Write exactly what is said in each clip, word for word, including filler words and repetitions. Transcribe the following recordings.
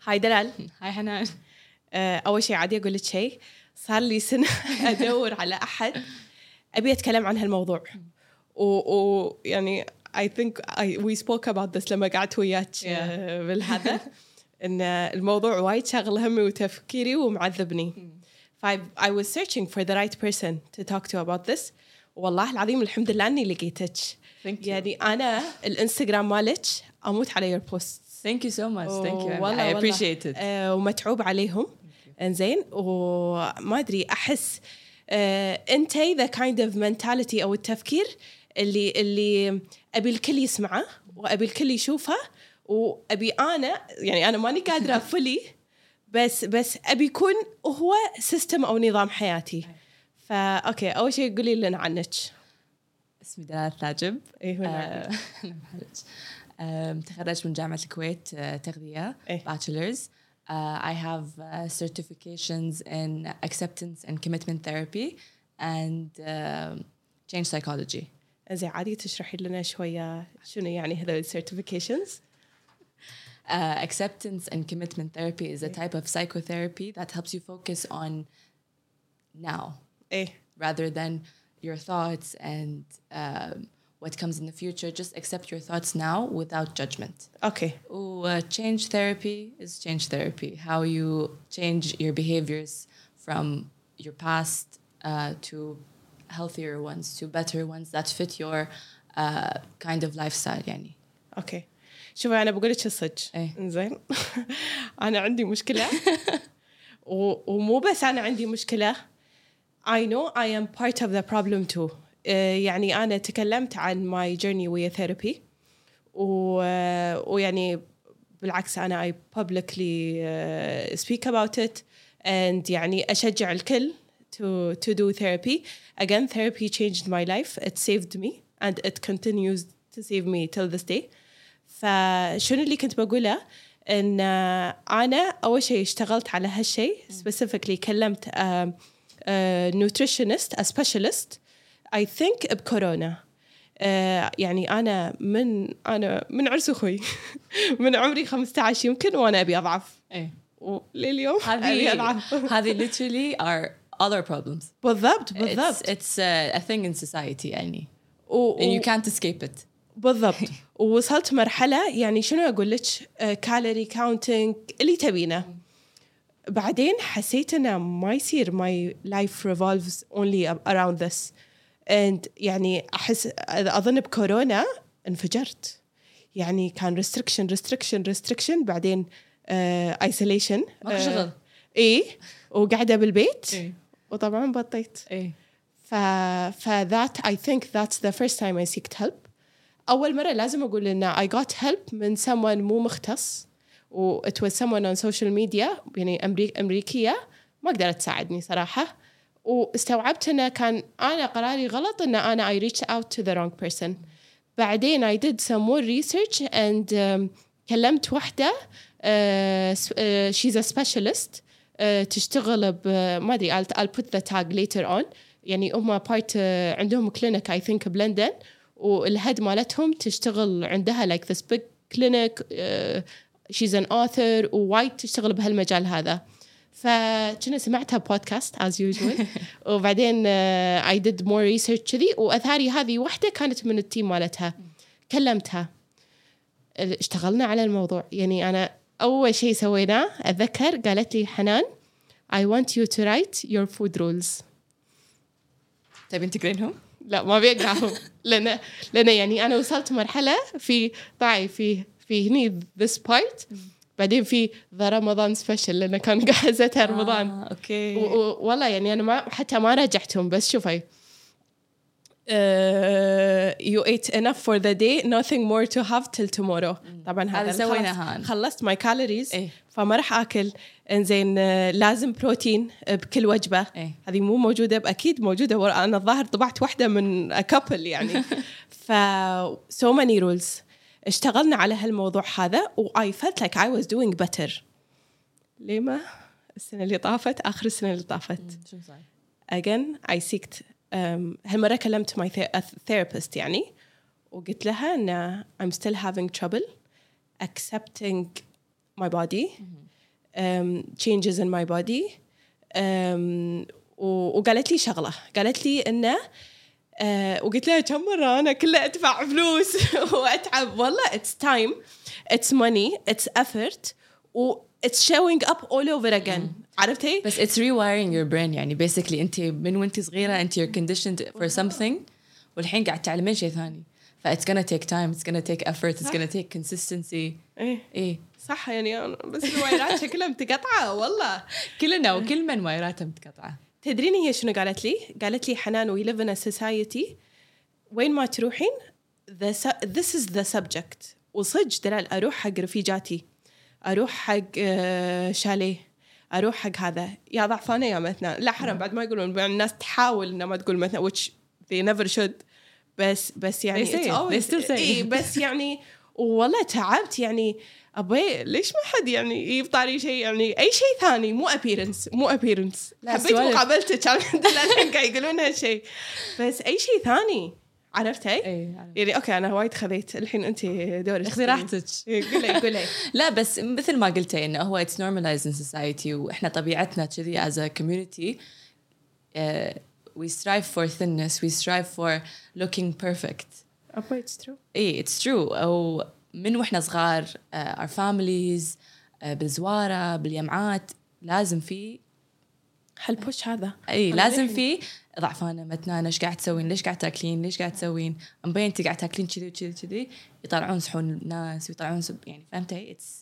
هاي دلال. هاي حنان. أول شيء عادي أقول لك شيء، صار لي سنة أدور على أحد أبي أتكلم عن هالموضوع، ويعني I think I, we spoke about this لما قعدت وياك yeah. بالهذا إن الموضوع وايد شغل همي وتفكيري ومعذبني. ف I was searching for the right person to talk to about this. والله العظيم الحمد لله أني لقيتك. يعني أنا الإنستغرام مالك أموت على your posts. Thank you so much. Thank you. والله I appreciate it. آه ومتعوب عليهم. إنزين وما أدري أحس آه أنتي the kind of mentality أو التفكير اللي اللي أبي الكل يسمعه وأبي الكل يشوفه، وأبي أنا يعني أنا ماني قادرة فلي بس بس أبي يكون هو سيستم أو نظام حياتي. فا أوكي أول شيء قولي لنا عنك. اسمي دلال ثاجب. إيه أه تخرجت من جامعة الكويت تغذية إيه؟ bachelor's. Uh, I have uh, certifications in acceptance and commitment therapy and uh, change psychology. زي عادي تشرحي لنا شوية شنو يعني هذول certifications؟ Uh, acceptance and commitment therapy is a type of psychotherapy that helps you focus on now إيه؟ rather than your thoughts and um, what comes in the future. Just accept your thoughts now without judgment. Okay. Ooh, uh, change therapy is change therapy. How you change your behaviors from your past uh, to healthier ones, to better ones that fit your uh, kind of lifestyle يعني. Okay. شوفي أنا بقولك الصدق. إيه. إنزين. أنا عندي مشكلة. ومو بس أنا عندي مشكلة. I know I am part of the problem too. يعني أنا تكلمت عن my journey ويا therapy ويعني بالعكس أنا I publicly speak about it and يعني أشجع الكل to to do therapy. Again, therapy changed my life. It saved me and it continues to save me till this day. فشنو اللي كنت بقوله إن أنا أول شيء اشتغلت على هالشيء specifically كلمت uh, uh, nutritionist a specialist I think بكورونا. uh, يعني أنا من أنا من عرس أخوي من عمري خمسة عشر يمكن وأنا أبي أضعف. إيه. ولليوم أبي أضعف. هذه literally are other problems. بالضبط بالضبط. It's, it's a, a thing in society يعني. و, and you can't escape it. بالضبط. ووصلت مرحلة يعني شنو أقول لك كالوري كاونتينج اللي تبينه. بعدين حسيت أنا ما يصير my life revolves only around this. and يعني أحس أظن بكورونا انفجرت. يعني كان restriction restriction restriction بعدين uh, isolation. ماكو شغل. إيه وقاعدة بالبيت. إيه. وطبعا بطيت. إيه. ف ف that I think that's the first time I seeked help. أول مرة لازم أقول إن I got help من someone مو مختص و it was someone on social media يعني أمريك أمريكية ما قدرت تساعدني صراحة. واستوعبت إنه كان أنا قراري غلط إن أنا I reached out to the wrong person. بعدين I did some more research and um, كلمت واحدة uh, uh, she's a specialist uh, تشتغل ب ما أدري I'll, I'll put the tag later on. يعني هم part uh, عندهم clinic I think بلندن والهد مالتهم تشتغل عندها like this big clinic. uh, she's an author ووايد تشتغل بهالمجال هذا. فكنا سمعتها بودكاست as usual وبعدين uh, I did more research كذي وأثاري هذه واحدة كانت من التيم مالتها. كلمتها اشتغلنا على الموضوع. يعني أنا أول شيء سويناه أتذكر قالت لي حنان I want you to write your food rules. تبين تقرينهم؟ لا ما بيقعهم لأن لأن يعني أنا وصلت مرحلة في طاعي في في هني this part بعدين في ذا رمضان سبيشل لأن كان جاهزتها رمضان. آه، أوكي. والله يعني أنا ما حتى ما راجعتهم بس شوفي uh, you ate enough for the day nothing more to have till tomorrow. طبعا هذا سويناها. خلصت my calories إيه؟ فما راح أكل. إنزين لازم بروتين بكل وجبة. إيه؟ هذه مو موجودة أكيد موجودة. أنا الظاهر طبعت واحدة من a couple يعني. ف so many rules. اشتغلنا على هالموضوع هذا و I felt like I was doing better. ليه ما السنة اللي طافت آخر السنة اللي طافت شو صار؟ again I seeked um, هالمرة كلمت my therapist يعني وقلت لها إن I'm still having trouble accepting my body um, changes in my body. um, وقالت لي شغلة، قالت لي إنه uh, وقلت لها كم مرة أنا كله أدفع فلوس وأتعب. والله it's time, it's money, it's effort, و it's showing up all over again. عرفتي؟ بس it's rewiring your brain. يعني basically أنت من وأنت صغيرة أنت you're conditioned for something والحين قاعد تعلمين شيء ثاني. ف it's gonna take time, it's gonna take effort, it's gonna take consistency. إيه إيه صح يعني أنا بس الوايرات شكلها متقطعة والله. كلنا وكل من وايراته متقطعة. تدرين هي شنو قالت لي؟ قالت لي حنان we live in a society وين ما تروحين the su- this is the subject. وصج دلال أروح حق رفيجاتي، أروح حق شاليه، أروح حق هذا يا ضعفانة يا مثنى. لا حرام بعد ما يقولون الناس تحاول إنها ما تقول مثنى which they never should. بس بس يعني they say it. They still say إيه بس يعني والله تعبت يعني أبي ليش ما حد يعني يبطاري شيء يعني أي شيء ثاني مو appearance مو appearance. حبيت مقابلتك كان الحين قاعد يقولون هالشيء بس أي شيء ثاني. عرفتي؟ إيه يعني أوكي أنا وايد خذيت الحين أنت دورك اخذي راحتك. قولي قولي. لا بس مثل ما قلتي إنه هو it's normalized in society وإحنا طبيعتنا كذي as a community. uh, we strive for thinness, we strive for looking perfect. أبا it's true. إيه it's true. أو من وإحنا صغار uh, our families uh, بالزوارة بالجامعات لازم في هالبوش هذا. اي لازم في ضعفانه متنانه ايش قاعد تسوين ليش قاعد تاكلين ليش قاعد تسوين مبين انت قاعد تاكلين كذي وكذي كذي يطلعون صحون الناس ويطلعون سب يعني فهمتي اتس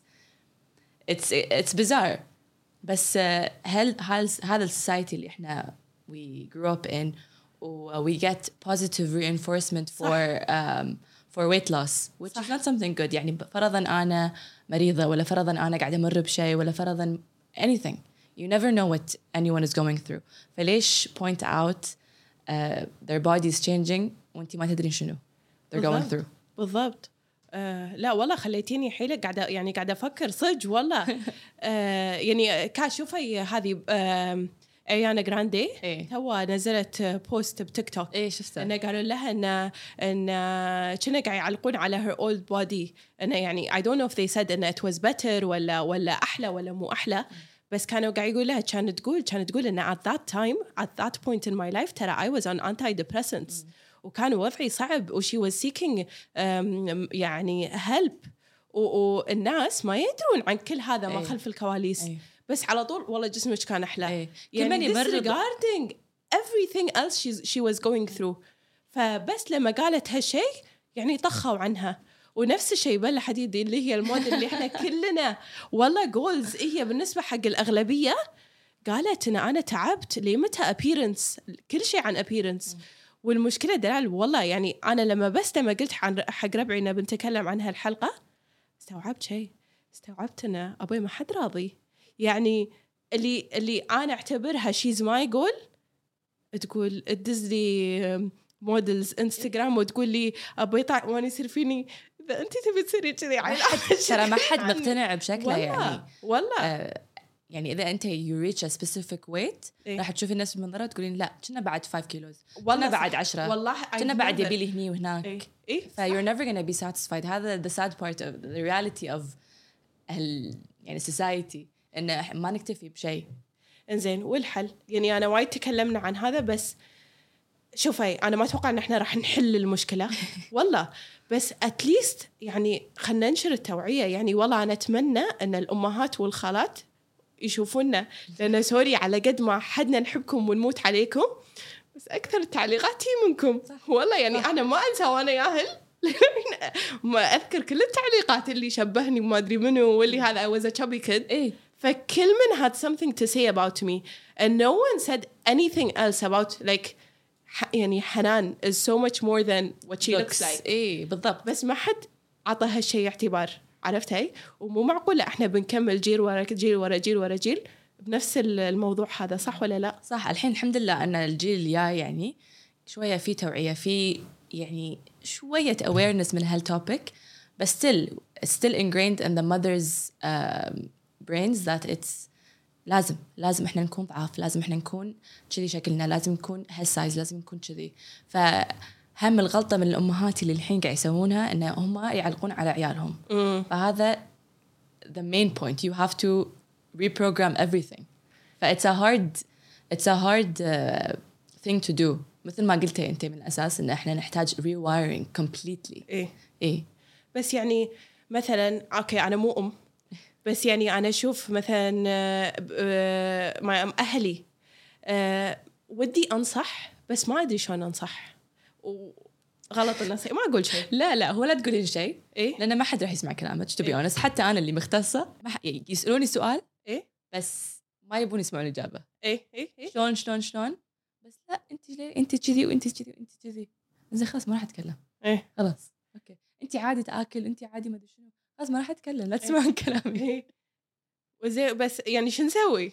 اتس اتس bizarre. بس هل هذا السوسايتي اللي احنا we grew up in و we get positive reinforcement for um, for weight loss which صح. is not something good. يعني فرضا انا مريضه ولا فرضا انا قاعده امر بشيء ولا فرضا anything. You never know what anyone is going through. فليش point out uh, their bodies changing وانتي ما تدرين شنو they're going through. بالضبط. آه لا والله خليتيني حيلة قاعدة يعني قاعدة أفكر صج والله. آه يعني كاشوفي هذه آه أريانا جراندي إيه؟ تو نزلت بوست بتيك توك. إيه شفتها؟ إنه قالوا لها إن إن كنا قاعد يعلقون على her old body. إنه يعني I don't know if they said إن it was better ولا ولا أحلى ولا مو أحلى. بس كانوا قاعد يقول لها كانت تقول كانت تقول إن at that time at that point in my life ترى I was on antidepressants mm. وكان وضعي صعب و she was seeking um, يعني help والناس ما يدرون عن كل هذا ما خلف الكواليس. أي. بس على طول والله جسمك كان أحلى. أي. يعني disregarding everything else she, she was going through. فبس لما قالت هالشيء يعني طخوا عنها. ونفس الشيء بلا حديدي اللي هي الموديل اللي احنا كلنا والله جولز هي بالنسبة حق الأغلبية. قالت إن أنا تعبت لمتى appearance كل شيء عن appearance. والمشكلة دلال والله يعني أنا لما بس لما قلت عن حق ربعي إن بنتكلم عن هالحلقة استوعبت شيء استوعبت إن أبوي ما حد راضي. يعني اللي اللي أنا أعتبرها she's my goal تقول تدز لي موديلز انستغرام وتقول لي أبوي طع وأنا يصير فيني إذا أنت تبي تصيري كذي عيل. ترى ما حد مقتنع بشكله يعني والله آه يعني إذا أنت you reach a specific weight إيه؟ راح تشوفي الناس بالمنظرة تقولين لا كنا بعد five kilos كنا بعد عشرة والله كنا بعد يبيلي هني وهناك إيه؟ إيه؟ ف you're never gonna be satisfied. هذا the sad part of the reality of ال يعني society إنه ما نكتفي بشيء. إنزين والحل يعني أنا وايد تكلمنا عن هذا بس شوفي أنا ما أتوقع إن إحنا راح نحل المشكلة والله بس at least يعني خلنا ننشر التوعية. يعني والله أنا أتمنى أن الأمهات والخالات يشوفونا لأن سوري على قد ما حدنا نحبكم ونموت عليكم بس أكثر التعليقات هي منكم. والله يعني أنا ما أنسى وأنا ياهل ما أذكر كل التعليقات اللي شبهني وما أدري منه واللي هذا I was a chubby kid. إيه فكل من had something to say about me and no one said anything else about like يعني حنان is so much more than what she looks, looks like. إيه بالضبط. بس ما حد عطى هالشيء اعتبار. عرفتي؟ ومو معقول احنا بنكمل جيل ورا جيل ورا جيل ورا جيل بنفس الموضوع هذا. صح ولا لا؟ صح. الحين الحمد لله أن الجيل الجاي يعني شوية في توعية في يعني شوية awareness من هالtopic بس still still ingrained in the mother's um, brains that it's لازم لازم إحنا نكون ضعاف لازم إحنا نكون كذي شكلنا لازم نكون هالسايز لازم نكون كذي. فهم الغلطة من الأمهات اللي الحين قاعد يسوونها إن هم يعلقون على عيالهم. mm. فهذا the main point you have to reprogram everything. ف it's a hard it's a hard uh, thing to do. مثل ما قلتي أنت من الأساس إن إحنا نحتاج rewiring completely. إيه إيه. بس يعني مثلا أوكي أنا مو أم بس يعني أنا أشوف مثلا مع أهلي أه ودي أنصح بس ما أدري شلون أنصح وغلط النصيحة ما أقول شيء. لا لا هو لا تقولين شيء إيه؟ لأن ما حد راح يسمع كلامك to be إيه؟ honest. حتى أنا اللي مختصة ما ح... يسألوني سؤال إيه؟ بس ما يبون يسمعون الإجابة. إيه إيه إيه؟ شلون شلون شلون بس لا أنت ليه أنت كذي وأنت كذي وأنت كذي زين خلاص ما راح أتكلم. إيه خلاص أوكي أنت عادي تأكل أنت عادي ما أدري شنو خلاص ما راح أتكلم لا تسمعون إيه؟ كلامي. إيه؟ وزي بس يعني شو نسوي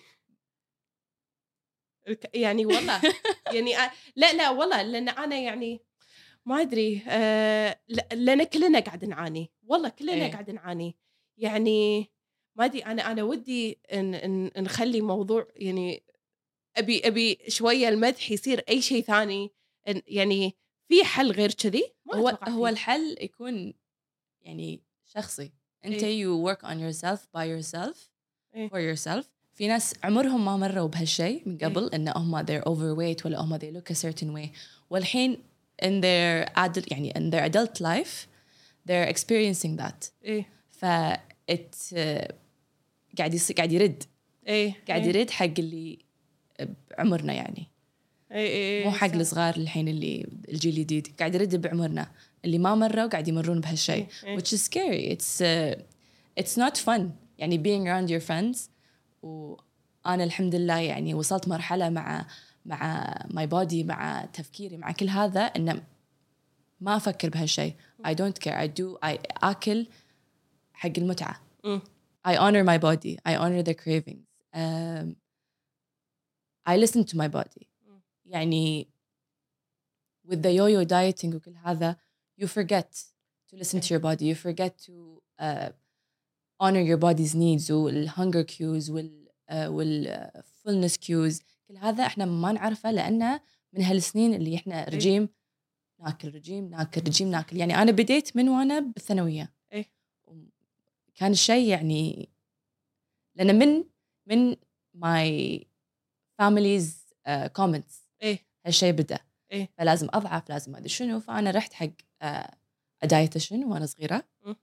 يعني والله يعني أ... لا لا والله لأن أنا يعني ما أدري أه... لأن كلنا قاعد نعاني والله كلنا إيه؟ قاعد نعاني يعني ما أدري أنا أنا ودي إن... إن... نخلي موضوع يعني أبي أبي شوية المدح يصير أي شيء ثاني إن... يعني في حل غير كذي. هو هو الحل يكون يعني شخصي أنت إيه؟ you work on yourself by yourself إيه؟ for yourself. في ناس عمرهم ما مروا بهالشيء من قبل إيه؟ إن هم they're overweight ولا هم they look a certain way والحين in their adult يعني in their adult life they're experiencing that. إيه؟ ف it uh, قاعد يص... قاعد يرد إيه؟ قاعد إيه؟ يرد حق اللي بعمرنا يعني إيه؟ إيه؟ مو حق الصغار الحين اللي الجيل الجديد قاعد يرد بعمرنا اللي ما مروا قاعد يمرون بهالشيء. إيه؟ which is scary. it's uh, it's not fun يعني being around your friends. وأنا الحمد لله يعني وصلت مرحلة مع مع my body مع تفكيري مع كل هذا إن ما أفكر بهالشيء. I don't care. I do I أكل حق المتعة. I honor my body. I honor the cravings. Um, I listen to my body. يعني with the yo-yo dieting وكل هذا you forget to listen to your body. You forget to uh, honor your body's needs والhunger cues وال uh, وال uh, fullness cues. كل هذا إحنا ما نعرفه لأنه من هالسنين اللي إحنا رجيم ناكل رجيم ناكل رجيم ناكل. يعني أنا بديت من وأنا بالثانوية. إيه؟ كان الشيء يعني لأن من من my family's uh, comments إيه؟ هالشيء بدأ. إيه؟ فلازم أضعف لازم أدري شنو. فأنا رحت حق uh, a dietitian وأنا صغيرة م.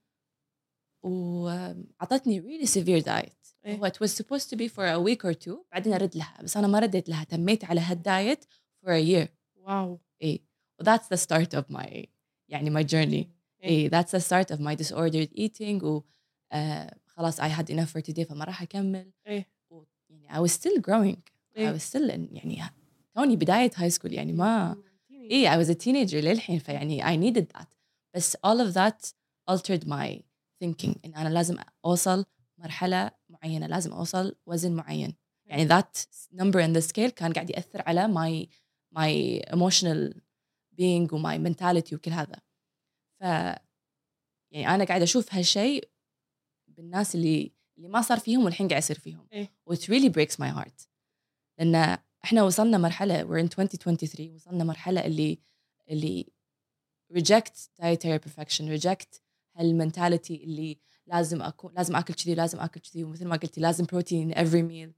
وعطتني really severe diet. إيه؟ هو it was supposed to be for a week or two بعدين أرد لها بس أنا ما رديت لها تميت على هالدايت for a year. واو. إيه و that's the start of my يعني my journey. إيه that's the start of my disordered eating و uh, خلاص I had enough for today فما راح أكمل. إيه؟ و يعني I was still growing. إيه؟ I was still in يعني توني بداية high school يعني ما إيه I was a teenager للحين فيعني I needed that. بس all of that altered my thinking إن أنا لازم أوصل مرحلة معينة لازم أوصل وزن معين. يعني that number in the scale كان قاعد يأثر على my my emotional being و my mentality وكل هذا. ف يعني أنا قاعد أشوف هالشيء بالناس اللي اللي ما صار فيهم والحين قاعد يصير فيهم. إيه؟ which really breaks my heart لأن إحنا وصلنا مرحلة we're in twenty twenty-three وصلنا مرحلة اللي اللي reject dietary perfection reject هالمنتاليتي اللي لازم أكون لازم أكل كذي لازم أكل كذي ومثل ما قلتي لازم بروتين every meal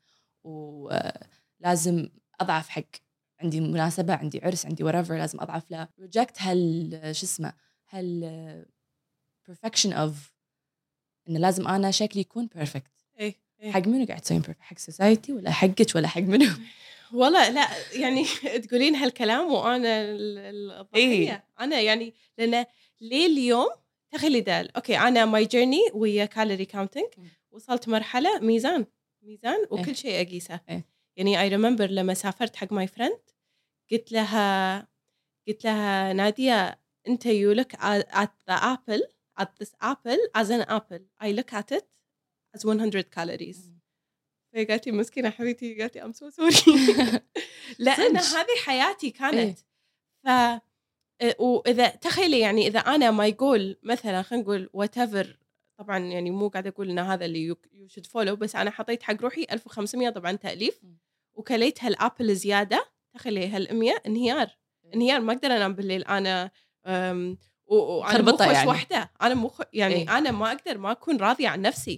ولازم أضعف حق عندي مناسبة عندي عرس عندي whatever لازم أضعف له reject هال شو اسمه هال perfection of إن لازم أنا شكلي يكون perfect. إيه؟ إيه؟ حق منو قاعد تسوين perfect حق society ولا حقك ولا حق منو؟ والله لا يعني تقولين هالكلام وأنا الضحية. إيه؟ أنا يعني لأن ليه اليوم تخلي دال أوكي أنا my journey ويا calorie counting وصلت مرحلة ميزان ميزان وكل إيه؟ شيء أقيسه. إيه؟ يعني I remember لما سافرت حق my friend قلت لها قلت لها نادية أنت you look at the apple at this apple as an apple I look at it as one hundred calories. فهي قالت لي مسكينة حبيبتي قالت لي I'm so sorry لأن هذه حياتي كانت. ف وإذا تخيلي يعني إذا أنا ما يقول مثلا خلينا نقول whatever طبعا يعني مو قاعدة أقول إن هذا اللي you should follow بس أنا حطيت حق روحي ألف وخمسمية طبعا تأليف وكليت هالأبل زيادة تخيلي هالمية انهيار انهيار ما أقدر أنام بالليل أنا وأنا مو خوش يعني. وحدة أنا مو يعني إيه؟ أنا ما أقدر ما أكون راضية عن نفسي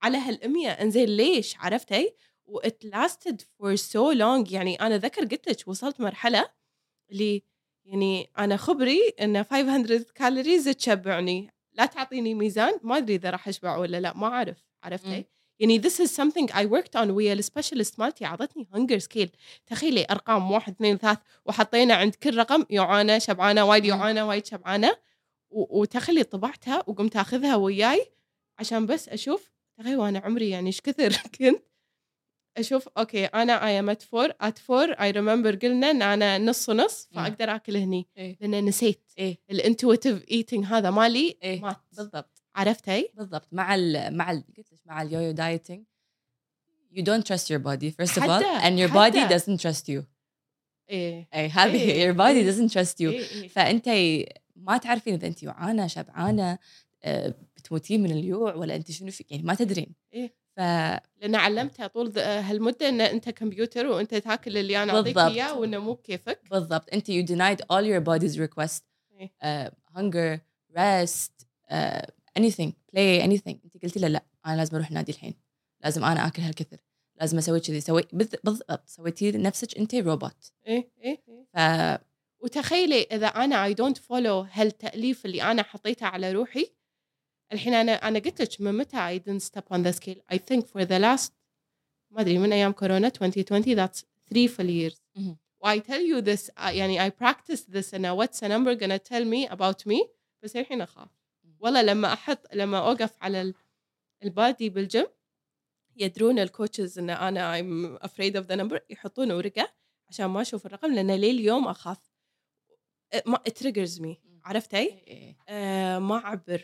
على هالأمية. انزين ليش؟ عرفتي؟ و it lasted for so long. يعني أنا ذكر قلت لك وصلت مرحلة اللي يعني أنا خبري إن خمسمية كالوريز تشبعني، لا تعطيني ميزان ما أدري إذا راح أشبع ولا لا، ما أعرف. عرفتي؟ م. يعني this is something I worked on ويا السبيشالست مالتي، عطتني hunger scale. تخيلي أرقام واحد اثنين ثلاث وحطينا عند كل رقم يعانى شبعانة وايد يعانى وايد شبعانة، وتخلي طبعتها وقمت أخذها وياي عشان بس أشوف. تخيل وأنا عمري يعني إيش كثر كنت أشوف أوكي أنا I am at four at four I remember قلنا إن أنا نص نص فأقدر أكل هني. إيه؟ لأن نسيت إيه؟ الانتويتيف eating هذا مالي إيه؟ مات. بالضبط. عرفتي؟ بالضبط. مع ال مع ال قلت لك مع اليويو دايتنج you don't trust your body first of all and your حدا. body doesn't trust you. إيه أي هذه إيه your body إيه doesn't trust you. إيه إيه. فأنت ما تعرفين إذا أنت جوعانة شبعانة بتموتين من الجوع ولا أنت شنو فيك، يعني ما تدرين. إيه. ف لأن علمتها طول هالمدة إن أنت كمبيوتر وأنت تاكل اللي أنا أعطيك إياه وإنه مو كيفك. بالضبط. أنت you denied all your body's request. إيه. uh, hunger rest uh, anything play anything. أنت قلتي لا لا أنا لازم أروح نادي الحين، لازم أنا أكل هالكثر، لازم أسوي كذي. سوي بالضبط سويتي نفسك أنت روبوت. إيه إيه إيه. ف... وتخيلي إذا أنا I don't follow هالتأليف اللي أنا حطيته على روحي الحين. أنا أنا قلت لك من متى I didn't step on the scale. I think for the last ما أدري من أيام كورونا twenty twenty that's three full years. mm-hmm. I tell you this uh, يعني I practice this and what's a number gonna tell me about me. بس الحين أخاف والله لما أحط لما أوقف على البادي بالجيم يدرون الكوتشز إن أنا I'm afraid of the number يحطون ورقة عشان ما أشوف الرقم لأن ليل اليوم أخاف. ما it triggers me. عرفتي؟ آه ما أعبر.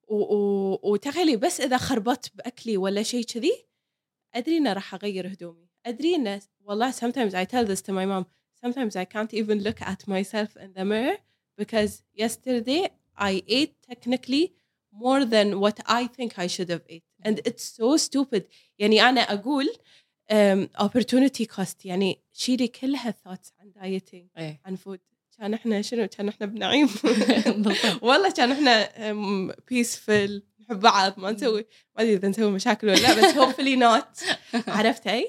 وتخيلي بس إذا خربت بأكلي ولا شيء كذي أدري إن راح أغير هدومي. أدري إن والله sometimes I tell this to my mom sometimes I can't even look at myself in the mirror because yesterday I ate technically more than what I think I should have ate and it's so stupid. يعني أنا أقول um, opportunity cost. يعني شيلي كلها thoughts عن dieting إيه. عن food. كان إحنا شنو كان إحنا بنعيم والله كان إحنا peaceful نحب بعض ما نسوي ما أدري إذا نسوي مشاكل ولا لا بس hopefully not. عرفتي؟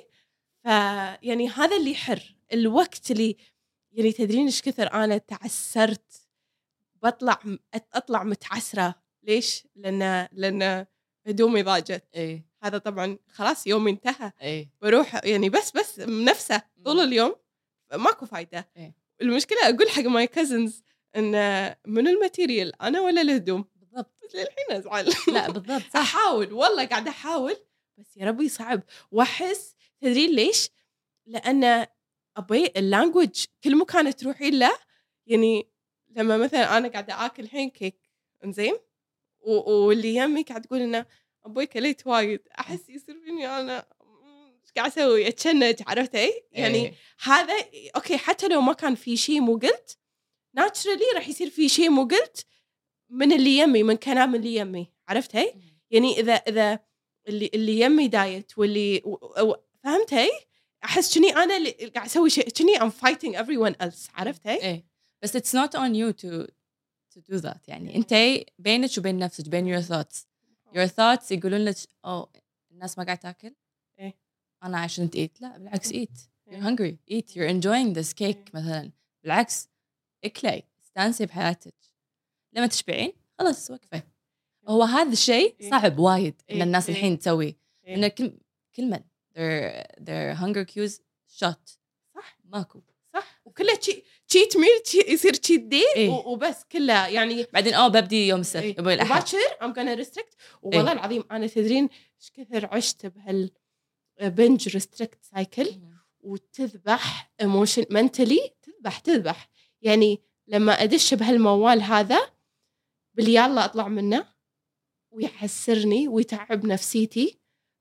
فيعني هذا اللي يحر الوقت اللي يعني تدرين إيش كثر أنا تعسرت بطلع أطلع متعسرة. ليش؟ لأن لأن هدومي ضاجت. إيه. هذا طبعا خلاص يومي انتهى. إيه. بروح يعني بس بس نفسه طول اليوم ماكو فايدة. إيه. المشكلة أقول حق ماي كازنز إن من الماتيريال أنا ولا الهدوم. بالضبط. للحين أزعل. لا بالضبط صح. أحاول والله قاعدة أحاول بس يا ربي صعب. وأحس تدرين ليش؟ لأن أبي اللانجوج كل مكان تروحين له. يعني لما مثلا أنا قاعدة آكل الحين كيك إنزين واللي يمي قاعد تقول إنه أبوي كليت وايد أحس يصير فيني أنا إيش قاعد أسوي أتشنج. عرفتي؟ يعني إيه. هذا أوكي حتى لو ما كان في شيء مو قلت ناتشرالي راح يصير في شيء مو قلت من اللي يمي من كلام اللي يمي. عرفتي؟ يعني إذا إذا اللي اللي يمي دايت واللي فهمتي أحس كني أنا اللي قاعد أسوي شيء كني I'm fighting everyone else. عرفتي؟ إيه. بس it's not on you to to do that. يعني أنت بينك وبين نفسك بين your thoughts your thoughts يقولون لك أو الناس ما قاعد تأكل إيه. أنا I shouldn't eat. لا بالعكس eat you're hungry eat you're enjoying this cake مثلا. بالعكس اكلي استانسي بحياتك لما تشبعين خلاص وقفي. هو هذا الشيء صعب وايد إن الناس الحين تسوي إن كل كلمة their their hunger cues shot. صح ماكو صح. وكله شيء تشيت ميل يصير تشيت دي إيه؟ وبس كله يعني بعدين أو ببدي يوم السبت إيه؟ يبغى الأحد باكر I'm gonna restrict. والله إيه؟ العظيم أنا تدرين إيش كثر عشت بهال binge restrict cycle وتذبح emotion mentally تذبح تذبح. يعني لما أدش بهالموال هذا باليالله أطلع منه ويحسرني ويتعب نفسيتي.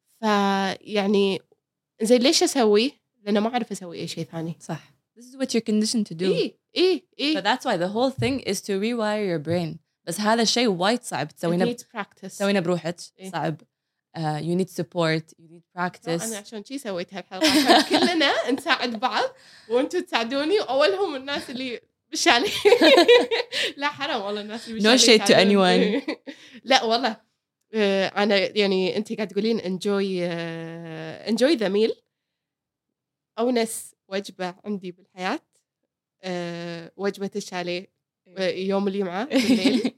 فيعني زي ليش أسوي؟ لأن ما أعرف أسوي أي شيء ثاني. صح. This is what you're conditioned to do. إيه إيه إيه. So that's why the whole thing is to rewire your brain. بس هذا الشيء وايد صعب تسوينه ب... تسوينه بروحك. إيه؟ صعب. Uh, you need support. You need practice. أنا عشان شي سويت هالحلقة عشان كلنا نساعد بعض وأنتوا تساعدوني. أولهم الناس اللي بشالي لا حرام والله الناس اللي no shade to anyone. لا والله آه، أنا يعني أنت قاعد تقولين enjoy آه، enjoy the meal. أونس وجبة عندي بالحياة آه، وجبة الشاليه آه، يوم الجمعة بالليل.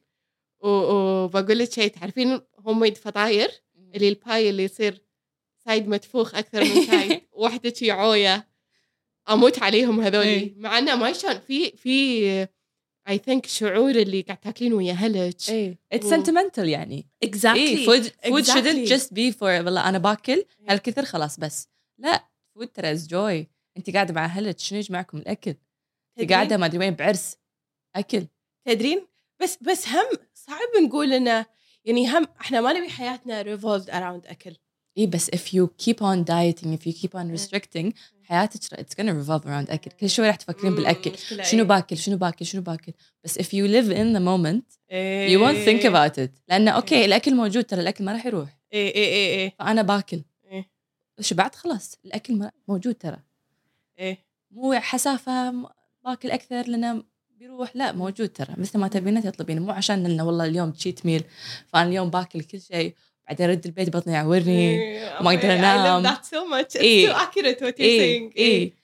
وبقول لك شيء، تعرفين هم فطاير اللي الباي اللي يصير سايد متفوخ أكثر من سايد واحدة شي عوية، أموت عليهم هذولي. مع أنه ما يشون في في I think شعور اللي قاعد تاكلين ويا أهلك. إيه it's و- sentimental يعني. exactly إيه food food exactly. shouldn't just be for والله أنا باكل هالكثر خلاص بس لا food ترى is joy. أنت قاعدة مع أهلك شنو يجمعكم الأكل؟ أنت قاعدة ما أدري وين بعرس أكل تدرين بس بس هم صعب نقول إنه يعني هم إحنا ما نبي حياتنا revolved around أكل. إيه بس if you keep on dieting if you keep on restricting حياتك it's gonna revolve around أكل. كل شوي راح تفكرين بالأكل شنو باكل شنو باكل شنو باكل. بس if you live in the moment you won't think about it لأنه أوكي الأكل موجود ترى الأكل ما راح يروح. إيه إيه إيه إيه فأنا باكل إيه شبعت خلاص الأكل ما- موجود ترى. إيه مو حسافة م- باكل أكثر لأنه بيروح لا موجود ترى مثل ما تبينه تطلبين. مو عشان إنه والله اليوم تشيت ميل فأنا اليوم باكل كل شيء بعدين أرد البيت بطني يعورني وما أقدر أنام. I love that so much. It's إيه. so accurate what you're إيه saying. إيه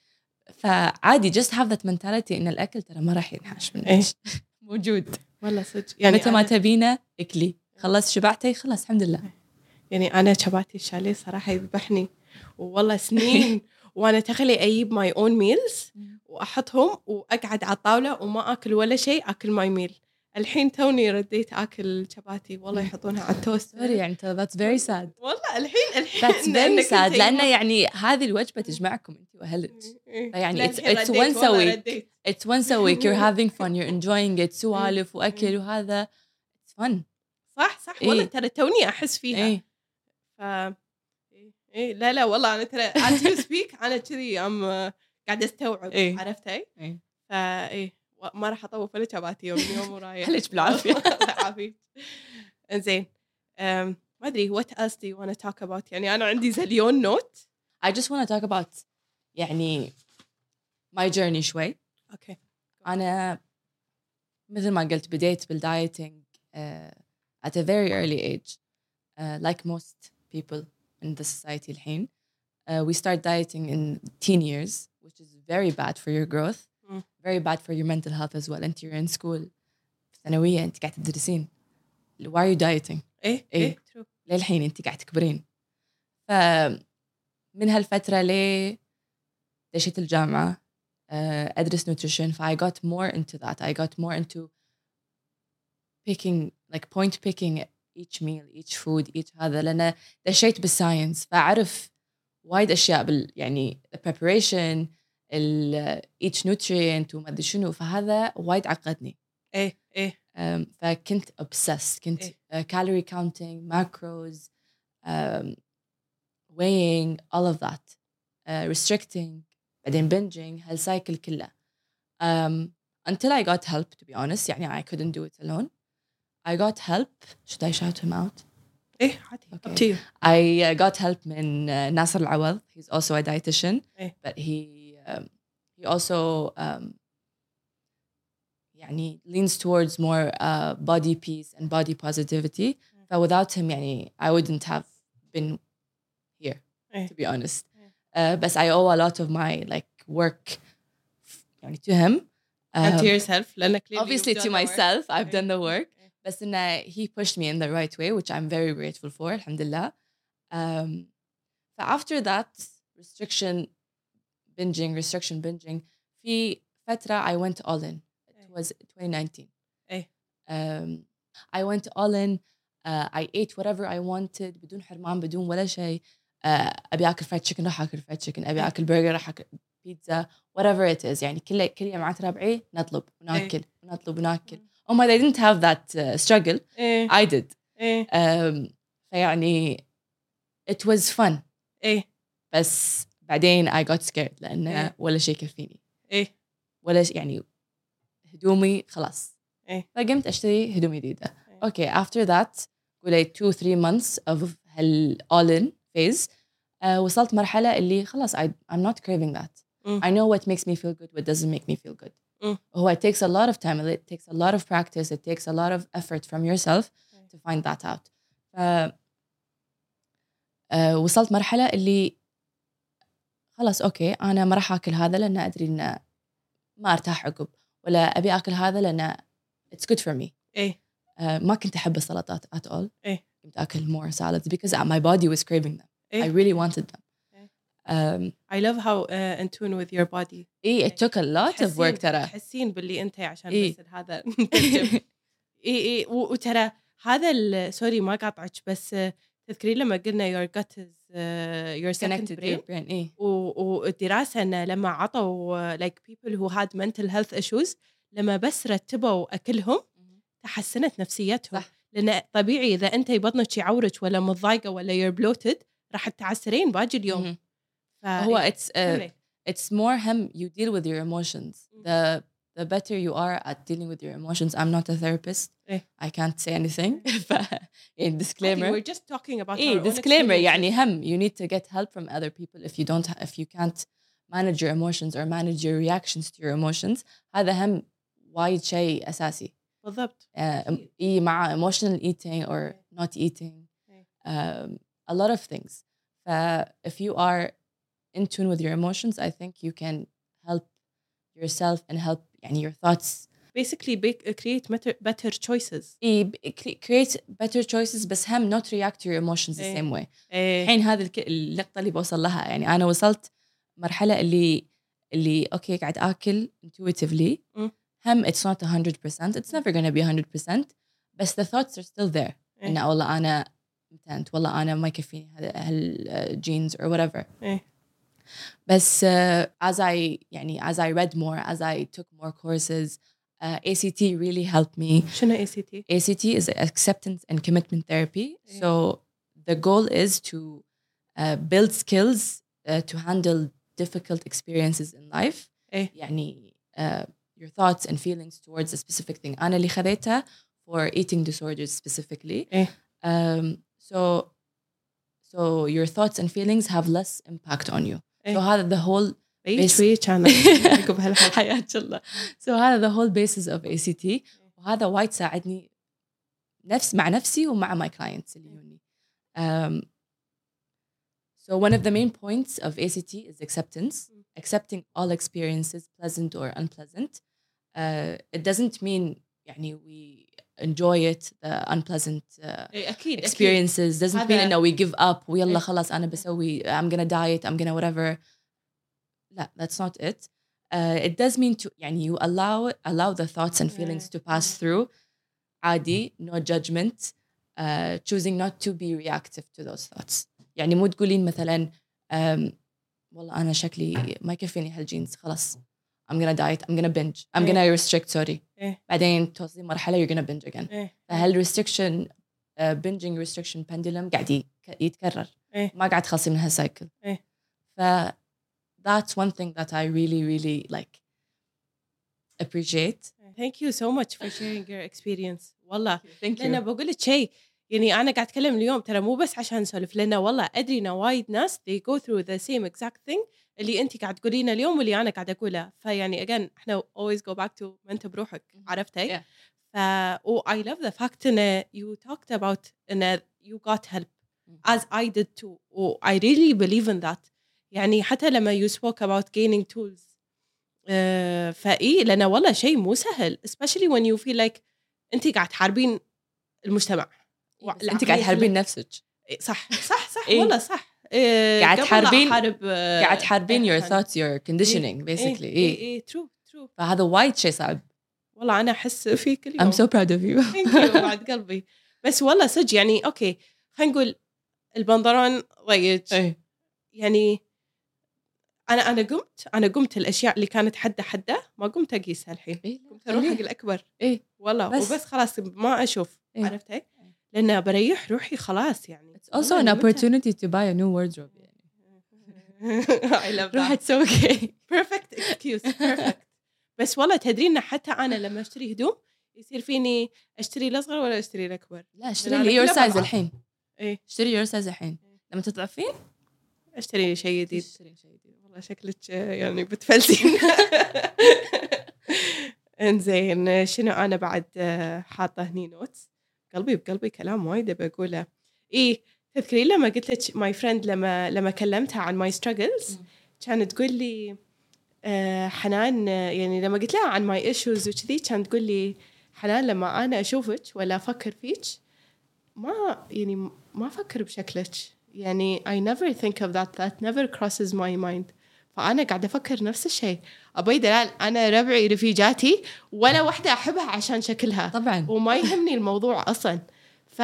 فعادي just have that mentality إن الأكل ترى ما راح ينحاش منك. إيه. موجود والله صدق يعني يعني متى ما أنا- تبينه اكلي خلص شبعتي خلاص الحمد لله. يعني أنا شباتي الشاليه صراحة يذبحني والله سنين وأنا تخلي أجيب my own meals وأحطهم وأقعد على الطاولة وما أكل ولا شيء أكل my meal. الحين توني رديت أكل شباتي والله يحطونها على التوست. سوري يعني that's very sad. والله الحين الحين that's very sad لأنه يعني هذه الوجبة تجمعكم أنت وأهلك. يعني it's it's once a week it's once a week you're having fun you're enjoying it سوالف وأكل وهذا it's fun. صح صح إيه. والله ترى توني أحس فيها. إيه. ف إيه إيه لا لا والله أنا ترى as you speak أنا كذي أم قاعدة أستوعب. إيه. عرفتي؟ إيه. فإيه ما راح أطوف ولا شباتي يوم يوم ورايح. عليك بالعافية. عافية. إنزين أم ما أدري what else do you want to talk about. يعني أنا عندي زليون نوت. I just want to talk about يعني my journey شوي. أوكي. أنا مثل ما قلت بديت بالدايتنج uh, at a very early age uh, like most people in the society الحين. Uh, we start dieting in teen years which is very bad for your growth. Mm. very bad for your mental health as well. أنت you're in school في ثانوية أنت قاعد تدرسين. why are you dieting؟ إيه إيه. إيه true. للحين أنت قاعد تكبرين. فمن هالفترة ليه دشيت الجامعة uh, أدرس nutrition. ف I got more into that. I got more into picking like point picking each meal each food each هذا لأن دشيت بالساينس فأعرف وايد أشياء بال يعني the preparation ال each nutrient وما أدري شنو. فهذا وايد عقدني. إيه إيه um, فكنت obsessed كنت إيه. uh, calorie counting macros um, weighing all of that uh, restricting بعدين binging هالسايكل كله um, until I got help to be honest. يعني I couldn't do it alone. I got help. Should I shout him out? إيه عادي. Okay. Up to you. I uh, got help من uh, Nasser Al-Awad. He's also a dietitian إيه. but he um, he also um, يعني leans towards more uh, body peace and body positivity. But without him يعني I wouldn't have been here إيه. to be honest. Uh, but I owe a lot of my like work يعني to him. And to Um, yourself لأنك clearly obviously you've to done the work. myself I've إيه. done the work. إيه. بس إنه he pushed me in the right way which I'm very grateful for الحمد لله. Um, so after that restriction binging restriction binging في فترة I went all in. It was twenty nineteen. إيه. Um, I went all in. Uh, I ate whatever I wanted بدون حرمان بدون ولا شيء. Uh, أبي أكل fried chicken راح أكل fried chicken. أبي أكل burger راح أكل pizza whatever it is. يعني كل كل يوم مع ربعي نطلب وناكل ونطلب وناكل. Oh my, I didn't have that uh, struggle. إيه. I did. إيه. Um, فيعني it was fun. إيه. بس بعدين I got scared لأنه إيه. ولا شيء يكفيني. إيه. ولا شيء يعني هدومي خلاص. إيه. فقمت أشتري هدوم جديدة. Okay, after that قولي two three months of هال all in phase uh, وصلت مرحلة اللي خلاص I, I'm not craving that. Mm. I know what makes me feel good, what doesn't make me feel good. Mm. هو it takes a lot of time, it takes a lot of practice, it takes a lot of effort from yourself to find that out. ف أه وصلت مرحلة اللي خلاص أوكي أنا ما راح أكل هذا لأن أدري إن ما أرتاح عقب، ولا أبي أكل هذا لأن it's good for me. إيه أه ما كنت أحب السلطات at all. إيه كنت أكل more salads because my body was craving them. إيه. I really wanted them. إيه. Um, I love how uh, in tune with your body. إيه it took a lot of work ترى. تحسين باللي أنت عشان إيه. بس هذا إيه إيه وترى هذا سوري ما قاطعك بس تذكرين لما قلنا your gut is uh, your second connected brain. to your brain. إيه. والدراسة أن لما عطوا like people who had mental health issues لما بس رتبوا أكلهم تحسنت نفسيتهم. صح. لأن طبيعي إذا أنت بطنك يعورك ولا مضايقة ولا you're bloated راح تعسرين باقي اليوم. هو it's uh, it's more هم you deal with your emotions. The the better you are at dealing with your emotions. I'm not a therapist. إيه. I can't say anything. ف يعني disclaimer. We're just talking about إيه our own disclaimer experiences. يعني هم you need to get help from other people if you don't if you can't manage your emotions or manage your reactions to your emotions. هذا هم وايد شيء أساسي. بالضبط. Uh, إيه مع emotional eating or not eating. Um, a lot of things. ف if you are in tune with your emotions, I think you can help yourself and help يعني your thoughts. Basically create better, better choices. إيه create better choices بس هم not react to your emotions the إيه. same way. إيه. الحين هذه الك... النقطة اللي بوصل لها يعني أنا وصلت مرحلة اللي اللي أوكي قاعد أكل intuitively. م. هم it's not one hundred percent. It's never gonna be one hundred percent. بس the thoughts are still there. إيه. إنه والله أنا متنت والله أنا ما يكفيني هال genes or whatever. إيه. بس uh, as I يعني as I read more, as I took more courses, uh, A C T really helped me. شنو A C T? A C T is acceptance and commitment therapy. Yeah. So the goal is to uh, build skills uh, to handle difficult experiences in life. Yeah. يعني uh, your thoughts and feelings towards a specific thing. أنا اللي خذيتها for eating disorders specifically. Yeah. Um, so so your thoughts and feelings have less impact on you. إيه. So هذا the whole بيت شوية أنا عقب هالحكي حياة الله. So هذا the whole basis of A C T. وهذا وايد ساعدني نفس مع نفسي ومع my clients اللي يوني. Um, so one of the main points of A C T is acceptance. Accepting all experiences, pleasant or unpleasant. Uh, it doesn't mean يعني we enjoy it, the unpleasant uh, أكيد, experiences. أكيد. Doesn't mean no we give up ويلا خلاص أنا بسوي I'm gonna diet, I'm gonna whatever. لا, that's not it. Uh, it does mean to يعني you allow allow the thoughts and feelings to pass through. عادي, no judgment. Uh, choosing not to be reactive to those thoughts. يعني مو تقولين مثلا um, والله أنا شكلي ما يكفيني هالجينز خلاص I'm gonna diet, I'm gonna binge, I'm gonna restrict, sorry. إيه. بعدين توصلين مرحلة you're gonna binge again. إيه. فهال restriction uh, binging restriction pendulum قاعد يتكرر. إيه. ما قاعد تخلصي من هالسايكل. إيه. ف that's one thing that I really really like appreciate. Thank you so much for sharing your experience. والله. Thank you. لأن بقول لك شيء يعني أنا قاعد أتكلم اليوم ترى مو بس عشان نسولف لأن والله أدري إن وايد ناس they go through the same exact thing اللي أنت قاعد تقولينه اليوم واللي أنا قاعد أقوله. فيعني again إحنا always go back to ما أنت بروحك عرفتي. Yeah. ف oh, I love the fact إن you talked about إن you got help as I did too. Oh, I really believe in that. يعني حتى لما you spoke about gaining tools uh, فإيه لأن والله شيء مو سهل especially when you feel like أنت قاعد تحاربين المجتمع. أنت قاعد تحاربين نفسك. صح صح صح إيه؟ والله صح. إيه قاعد تحاربين حارب قاعد تحاربين your thoughts your conditioning إيه basically. إيه إيه true true. فهذا وايد شيء صعب. والله أنا أحس فيك اليوم. I'm so proud of you. thank you بعد قلبي. بس والله صدق يعني أوكي خلينا نقول البنطلون ضيق يعني أنا أنا قمت أنا قمت الأشياء اللي كانت حدة حدة ما قمت أقيسها الحين. إيه؟ قمت أروح حق الأكبر. إيه والله بس. وبس خلاص ما أشوف. إيه؟ عرفتي؟ لأن بريح روحي خلاص يعني. It's also an opportunity to buy a new wardrobe. I love that. روح تسوي okay. Perfect excuse. Perfect. بس والله تدرين حتى أنا لما أشتري هدوم يصير فيني أشتري الأصغر ولا أشتري الأكبر. لا اشتري لي your size الحين. إيه. اشتري your size الحين. لما تضعفين اشتري شيء جديد. اشتري شيء جديد. والله شكلك يعني بتفلسين. إنزين شنو أنا بعد حاطة هني نوتس قلبي بقلبي كلام وايد بقوله. إيه تذكرين لما قلت لك my friend لما لما كلمتها عن my struggles كانت تقول لي آه حنان يعني لما قلت لها عن my issues وكذي كانت تقول لي حنان لما أنا أشوفك ولا أفكر فيك ما يعني ما أفكر بشكلك يعني I never think of that that never crosses my mind. فأنا قاعدة أفكر نفس الشيء أبي دلال أنا ربعي رفيجاتي ولا واحدة أحبها عشان شكلها طبعا وما يهمني الموضوع أصلا. ف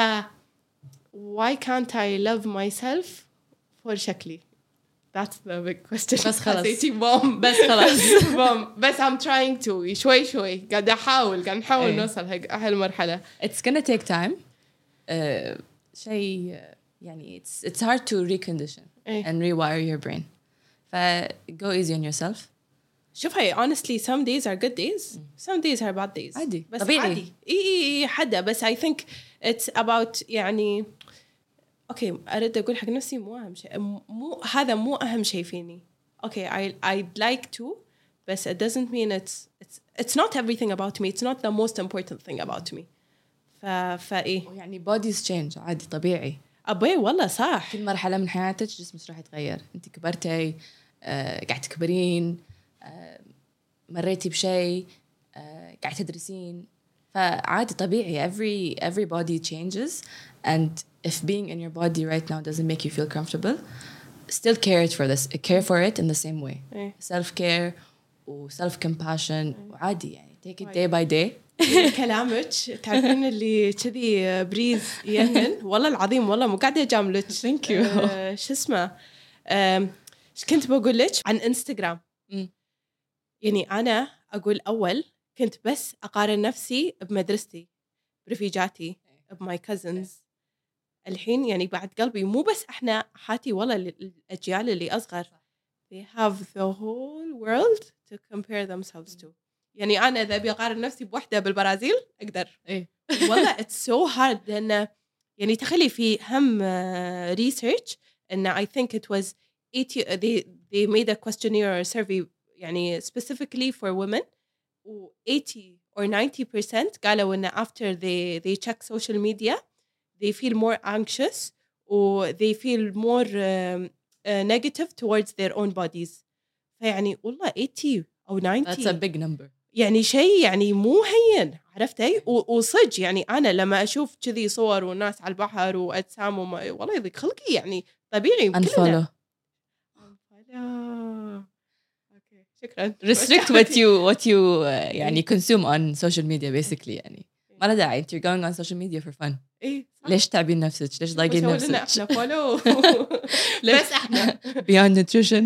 why can't I love myself for شكلي that's the big question. بس خلاص بوم بس خلاص بوم بس I'm trying to شوي شوي قاعدة أحاول قاعدة نحاول أيه. نوصل هالمرحلة. it's gonna take time. uh, شيء يعني it's it's hard to recondition أيه. and rewire your brain. ف go easy on yourself. شوف هاي honestly some days are good days some days are bad days عادي بس طبيعي عادي إيه إيه إيه حدا بس I think it's about يعني أوكي أرد أقول حق نفسي مو أهم شيء مو هذا مو أهم شيء فيني أوكي I I'd like to بس it doesn't mean it's it's it's not everything about me it's not the most important thing about me. ف فإيه يعني bodies change عادي طبيعي أبوي والله صح كل مرحلة من حياتك جسمك راح يتغير. أنت كبرتي آه، قاعد تكبرين آه، مريتي بشيء آه، قاعد تدرسين فعادي طبيعي every every body changes and if being in your body right now doesn't make you feel comfortable still care it for this care for it in the same way. إيه. self care و self compassion وعادي يعني take it day by day. كلامك تعرفين اللي كذي بريز يهن والله العظيم والله مو قاعدة أجاملك. Thank you. آه شو اسمه ايش كنت بقول لك عن انستغرام. م. يعني أنا أقول أول كنت بس أقارن نفسي بمدرستي برفيجاتي بماي كازنز. الحين يعني بعد قلبي مو بس إحنا حاتي والله الأجيال اللي أصغر they have the whole world to compare themselves to. يعني أنا إذا أبي أقارن نفسي بوحدة بالبرازيل أقدر. إيه. والله it's so hard لأن يعني تخلي في هم uh, research إن I think it was eighty they they made a questionnaire or survey يعني specifically for women و eighty or ninety percent قالوا إن after they they check social media they feel more anxious or they feel more um, uh, negative towards their own bodies. فيعني والله eighty أو ninety That's a big number. يعني شيء يعني مو هين عرفتي وصج يعني أنا لما أشوف كذي صور والناس على البحر وأجسام وما والله يضيق خلقي يعني طبيعي unfollow أوكي شكرا. restrict what you what you uh, يعني consume on social media basically يعني ما له داعي you're going on social media for fun. إيه ليش تعبين نفسك ليش ضايقين نفسك إحنا فولو بس إحنا beyond nutrition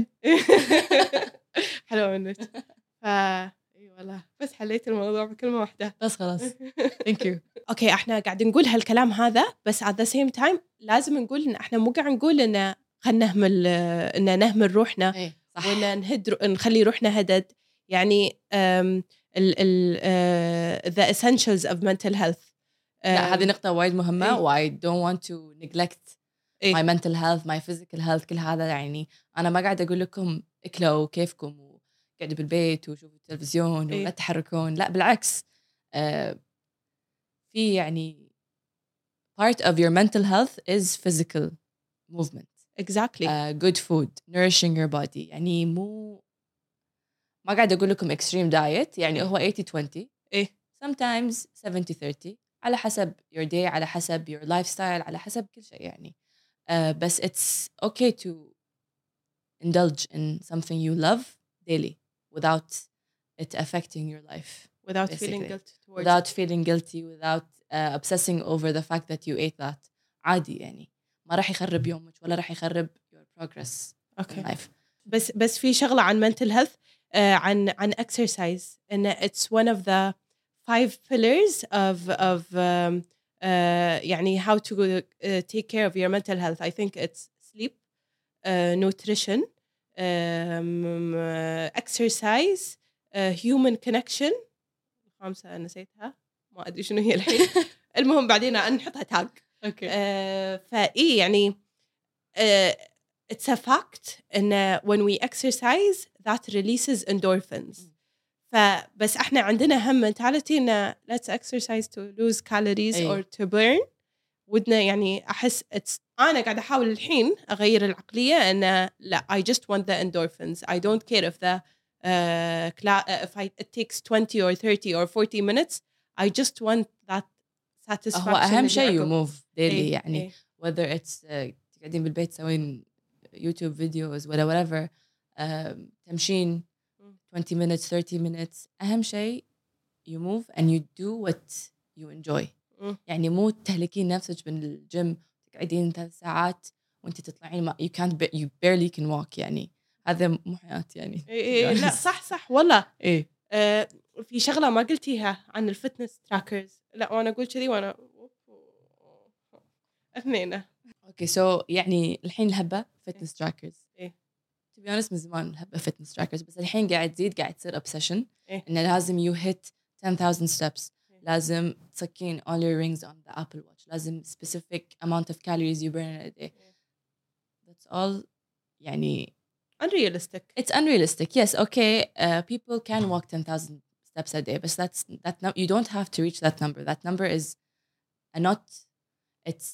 حلو منك. فا إيه والله بس حليت الموضوع بكلمة واحدة بس خلاص thank you. أوكي إحنا قاعد نقول هالكلام هذا بس at the same time لازم نقول إن إحنا مو قاعد نقول إن خلنا نهمل إن نهمل روحنا إيه صح ولا نهد نخلي روحنا هدد يعني ال ال uh, the essentials of mental health. لا هذه نقطة وايد مهمة إيه. و I don't want to neglect إيه. my mental health my physical health كل هذا يعني أنا ما قاعد أقول لكم اكلوا كيفكم وقعدوا بالبيت وشوفوا التلفزيون إيه. ولا تحركون لا بالعكس آه في يعني part of your mental health is physical movement. Exactly. Uh, good food nourishing your body يعني مو ما قاعد أقول لكم extreme diet يعني هو eighty twenty إيه. sometimes seventy thirty على حسب your day على حسب your lifestyle على حسب كل شيء يعني uh, بس it's okay to indulge in something you love daily without it affecting your life without basically. feeling guilty towards without it. feeling guilty without uh, obsessing over the fact that you ate that عادي يعني ما راح يخرب يومك ولا راح يخرب your progress okay. in life. بس بس في شغلة عن mental health uh, عن عن exercise and it's one of the five pillars of of um, uh, يعني how to uh, take care of your mental health. I think it's sleep, uh, nutrition, um, uh, exercise, uh, human connection. خامسة نسيتها ما أدري شنو هي الحين. المهم بعدين نحطها تاج. Okay. Uh, فإيه يعني uh, it's a fact إن when we exercise that releases endorphins. فبس إحنا عندنا هم mentality إن let's exercise to lose calories أي. or to burn ودنا يعني أحس it's أنا قاعدة أحاول الحين أغير العقلية أن لا I just want the endorphins I don't care if the uh, cla- if I, it takes twenty or thirty or forty minutes I just want that satisfaction. هو أهم شيء you move daily إيه يعني إيه. whether it's uh, قاعدين بالبيت تسوين يوتيوب فيديوز ولا whatever uh, تمشين twenty minutes thirty minutes أهم شيء you move and you do what you enjoy. م. يعني مو تهلكين نفسك بالجيم تقعدين ثلاث ساعات وانت تطلعين ما you can't you barely can walk يعني هذا مو حياة يعني. إيه إيه لا صح صح والله. إيه. آه في شغلة ما قلتيها عن الفتنس تراكرز. لا وأنا أقول كذي وأنا اثنين. Okay so يعني الحين الهبة fitness trackers. إيه. to be honest من زمان الهبة fitness trackers بس الحين قاعد تزيد قاعد تصير obsession. إيه. إنه لازم you hit ten thousand steps. لازم تسكين all your rings on the Apple Watch. لازم specific amount of calories you burn a day. That's all يعني unrealistic. It's unrealistic. Yes, okay. Uh, people can walk ten thousand steps a day, but that's that. No, you don't have to reach that number. That number is a not. It's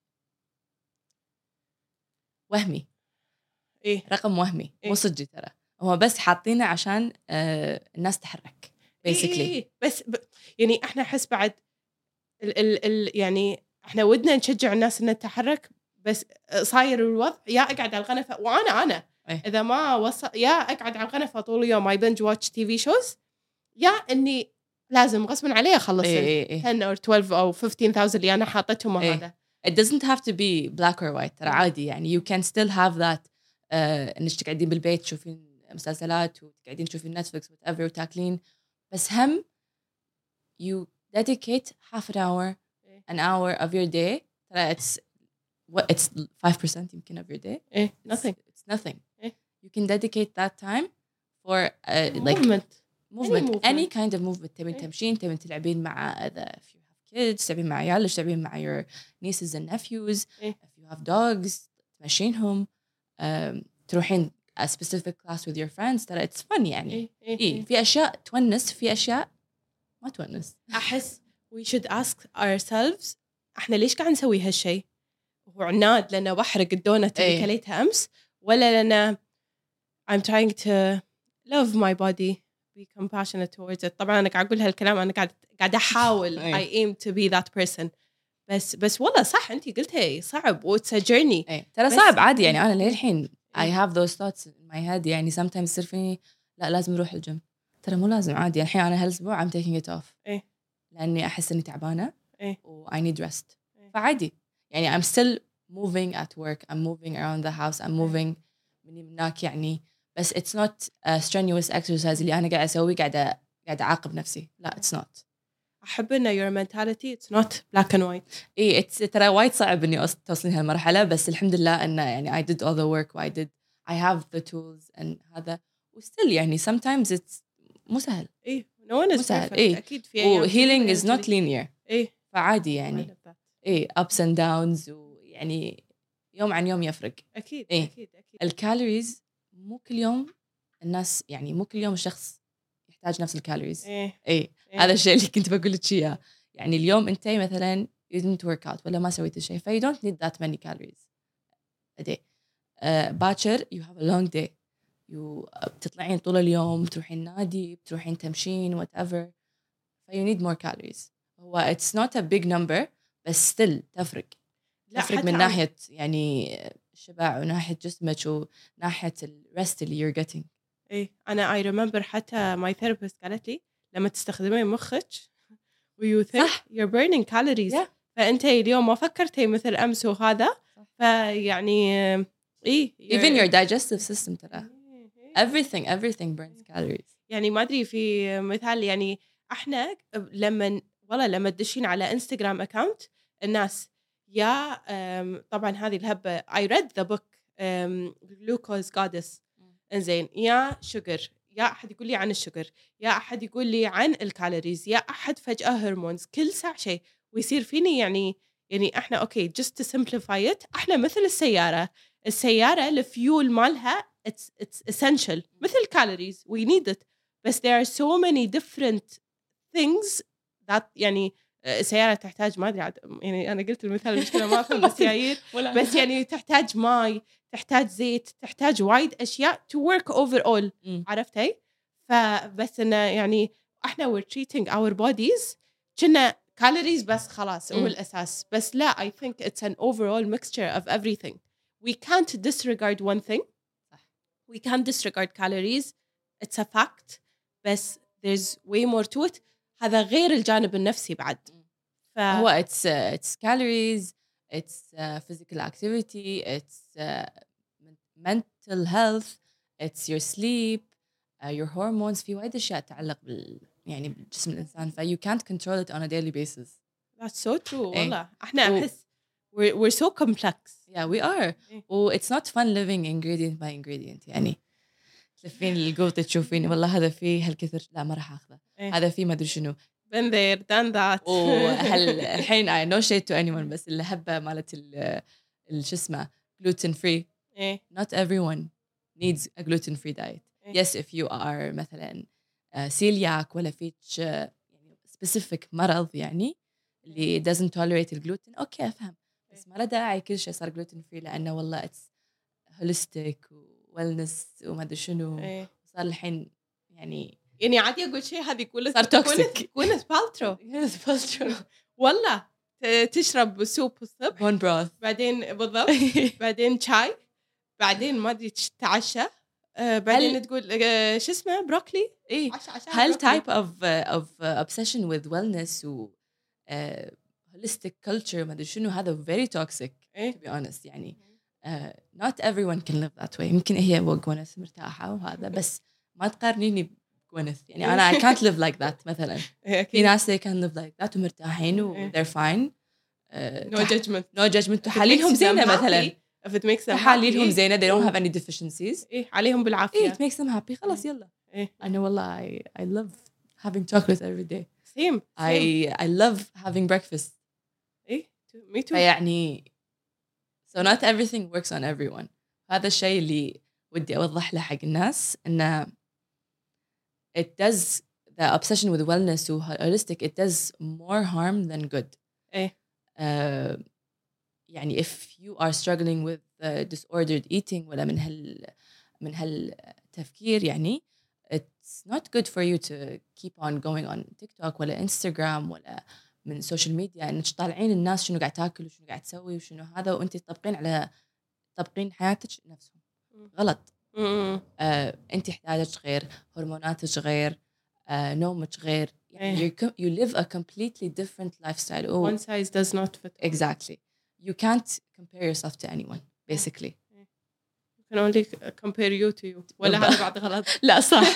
وهمي. إيه. رقم وهمي. إيه. مو صدق ترى. هو بس حاطينه عشان uh, الناس تحرك. Basically. إيه إيه. بس ب... يعني إحنا حس بعد ال ال ال يعني إحنا ودنا نشجع الناس إنها تتحرك بس صاير الوضع يا أقعد على الغنفة وأنا أنا. أيه. إذا ما وصل يا أقعد على الغنفة طول اليوم I binge watch تي في shows يا إني لازم غصباً عليه أخلص إيه إيه إيه. ten or twelve أو fifteen thousand اللي أنا حاطتهم إيه. هذا. It doesn't have to be black or white. ترى عادي يعني you can still have that uh, إنك تقعدين بالبيت تشوفين مسلسلات وتقعدين تشوفين نتفليكس whatever وتاكلين بس هم you dedicate half an hour an hour of your day ترى it's what it's five percent يمكن of your day. إيه. nothing. It's, it's nothing. إيه. You can dedicate that time for uh, like movement. movement Any movement. any kind of movement. تبين إيه. تمشين تبين تلعبين مع other if you have kids تبين مع عيالك تبين مع your nieces and nephews. إيه. If you have dogs تمشينهم um, تروحين a specific class with your friends ترى it's fun يعني. إيه. إيه. إيه في أشياء تونس في أشياء ما تونس. أحس we should ask ourselves إحنا ليش قاعد نسوي هالشيء؟ هو عناد لأنه بحرق الدونت اللي إيه. كليتها أمس ولا لأنه I'm trying to love my body be compassionate towards it. طبعا أنا قاعد أقول هالكلام أنا قاعد قاعد أحاول I aim to be that person بس بس والله صح أنتي قلتي صعب و it's a journey. إيه. ترى صعب عادي يعني أنا للحين I have those thoughts in my head يعني sometimes يصير فيني لا لازم أروح الجيم ترى مو لازم عادي الحين أنا هالأسبوع I'm taking it off. إيه. لأني أحس إني تعبانة. إيه. و I need rest. إيه. فعادي يعني I'm still moving at work I'm moving around the house I'm moving مني مناك يعني بس it's not a strenuous exercise اللي أنا قاعد أسوي قاعدة قاعدة أعاقب نفسي لا it's not. أحب إنه your mentality it's not black and white. إيه it's ترى وايد صعب إني توصلين هالمرحلة بس الحمد لله إنه يعني I did all the work و I did I have the tools and هذا و still يعني sometimes it's مو سهل. إيه no one is سهل. perfect. إيه. أكيد في أيام و healing is not linear. إيه. فعادي يعني إيه ups and downs ويعني يوم عن يوم يفرق. أكيد. إيه. أكيد أكيد. الكالوريز مو كل يوم الناس يعني مو كل يوم الشخص يحتاج نفس الكالوريز. إيه. إيه. إيه. هذا الشيء اللي كنت بقول لك إياه يعني اليوم أنت مثلاً you didn't work out ولا ما سويت الشيء ف you don't need that many calories a day. uh, باكر you have a long day you بتطلعين طول اليوم بتروحين نادي بتروحين تمشين whatever ف you need more calories. هو it's not a big number بس still تفرق. تفرق من ناحية يعني الشبع وناحية جسمك وناحية الرست اللي you're getting. إيه أنا I remember حتى my therapist قالت لي لما تستخدمين مخك و you think صح. you're burning calories yeah. فأنت اليوم ما فكرتي مثل أمس وهذا فيعني إيه even your digestive system ترى everything everything burns calories. يعني ما أدري في مثال يعني إحنا لما والله لما تدشين على إنستغرام أكاونت الناس يا طبعا هذه الهبة I read the book glucose goddess إنزين يا شجر يا أحد يقول لي عن الشجر يا أحد يقول لي عن الكالوريز يا أحد فجأة هرمونز كل ساعة شيء ويصير فيني يعني يعني إحنا أوكي just to simplify it إحنا مثل السيارة السيارة الفيول مالها it's it's essential مثل calories we need it but there are so many different things that يعني السيارة تحتاج ما أدري عاد يعني أنا قلت المثال المشكلة ما أفهم بالسيايير بس يعني تحتاج ماء تحتاج زيت تحتاج وايد أشياء to work overall عرفتي فبس إنه يعني إحنا we're treating our bodies كنا calories بس خلاص هو الأساس بس لا I think it's an overall mixture of everything we can't disregard one thing we can't disregard calories it's a fact بس there's way more to it هذا غير الجانب النفسي بعد ف... هو it's uh, it's calories it's uh, physical activity it's uh, mental health it's your sleep uh, your hormones في وايد أشياء تتعلق بال يعني بجسم الإنسان ف you can't control it on a daily basis that's so true والله احنا أحس we're, we're so complex yeah we are و it's not fun living ingredient by ingredient يعني تلفين القوطة تشوفين والله هذا فيه هالكثر لا ما راح أخذه هذا فيه ما أدري شنو been there done that وهل الحين I no shade to anyone بس اللي هبة مالت ال شو اسمه gluten free not everyone needs a gluten free diet yes if you are مثلا celiac ولا فيش يعني specific مرض يعني اللي doesn't tolerate الجلوتين أوكي أفهم بس ما له داعي كل شيء صار gluten free لأنه والله it's holistic و wellness وما أدري شنو صار الحين يعني يعني عادي أقول شيء هذه كله صار توكسيك كونت بالترو والله تشرب سوب والصبح bone broth بعدين بالضبط بعدين شاي بعدين ما أدري تتعشى آه بعدين تقول آه شو اسمه بروكلي إيه هل type of uh, of uh, obsession with wellness و uh, holistic culture ما أدري شنو هذا very toxic إيه؟ to be honest يعني uh, not everyone can live that way يمكن هي وقونس مرتاحة وهذا بس ما تقارنيني بقونس يعني أنا I can't live like that مثلا في ناس they can live like that ومرتاحين و they're fine uh, no judgment no judgment وحاليلهم زينة مثلا if it makes them حاليلهم زينة they don't have any deficiencies إيه عليهم بالعافية it makes them happy خلاص يلا إيه أنا والله I, I love having chocolate every day same, same. I I love having breakfast إيه me too يعني so not everything works on everyone هذا الشيء اللي ودي أوضح له حق الناس إنه it does the obsession with wellness و holistic it does more harm than good إيه uh, يعني if you are struggling with uh, disordered eating ولا من هال من هالتفكير يعني it's not good for you to keep on going on TikTok ولا Instagram ولا من social media إنك تطالعين الناس شنو قاعد تاكل وشنو قاعد تسوي وشنو هذا وأنت تطبقين على تطبقين حياتك نفسهم غلط آه، أنت احتياجك غير هرموناتك غير آه، نومك غير يعني you, you live a completely different lifestyle oh. one size does not fit exactly you can't compare yourself to anyone basically you can only compare you to you ولا هذا بعد غلط لا صح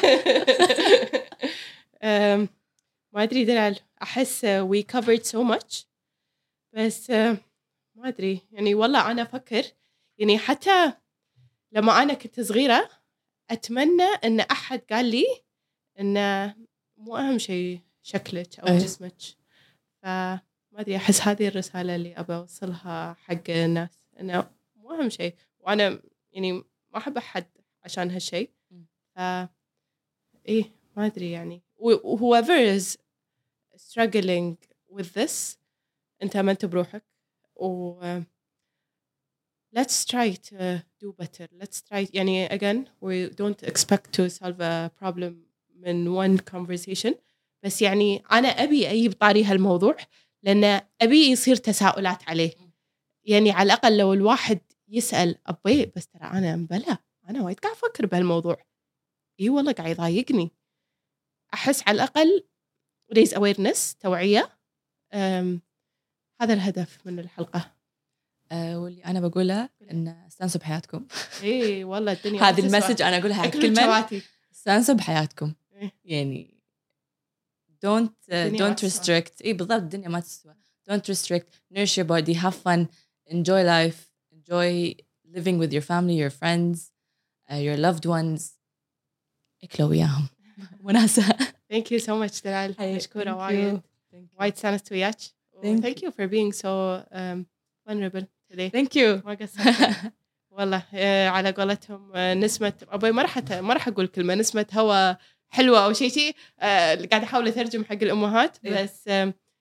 um, ما أدري دلال أحس we covered so much بس uh, ما أدري يعني والله أنا أفكر يعني حتى لما أنا كنت صغيرة أتمنى أن أحد قال لي أن مو أهم شيء شكلك أو جسمك فما أدري أحس هذه الرسالة اللي أبى أوصلها حق الناس أنه مو أهم شيء وأنا يعني ما أحب أحد عشان هالشيء ف إيه ما أدري يعني whoever is struggling with this أنت ما أنت بروحك و let's try to do better let's try يعني again we don't expect to solve a problem من one conversation بس يعني أنا أبي أجيب طاري هالموضوع لأن أبي يصير تساؤلات عليه يعني على الأقل لو الواحد يسأل أبي بس ترى أنا مبلا أنا وايد قاعد أفكر بهالموضوع إيه والله قاعد يضايقني أحس على الأقل raise awareness توعية هذا الهدف من الحلقة أه واللي أنا بقولها إن استانسوا بحياتكم إيه والله الدنيا هذه المسج أنا أقولها كل من استانسوا بحياتكم إيه؟ يعني don't uh, don't restrict إيه بالضبط الدنيا ما تسوى don't restrict nourish your body have fun enjoy life enjoy living with your family your friends uh, your loved ones اكلوا وياهم وناسة thank you so much دلال مشكورة وايد وايد سانست وياك thank you for being so um, vulnerable today thank you ما قصرت والله على قولتهم نسمة أبوي ما راح ما راح أقول كلمة نسمة هوا حلوة أو شيء شيء قاعد أحاول أترجم حق الأمهات بس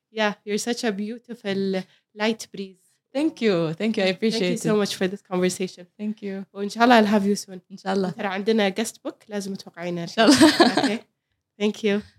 Yeah, you're such a beautiful light breeze. Thank you. Thank you. I appreciate Thank you so it. much for this conversation. Thank you. وإن شاء الله I'll have you soon. إن شاء الله. ترى عندنا guest book لازم توقعينها. إن شاء الله. Okay. Thank you.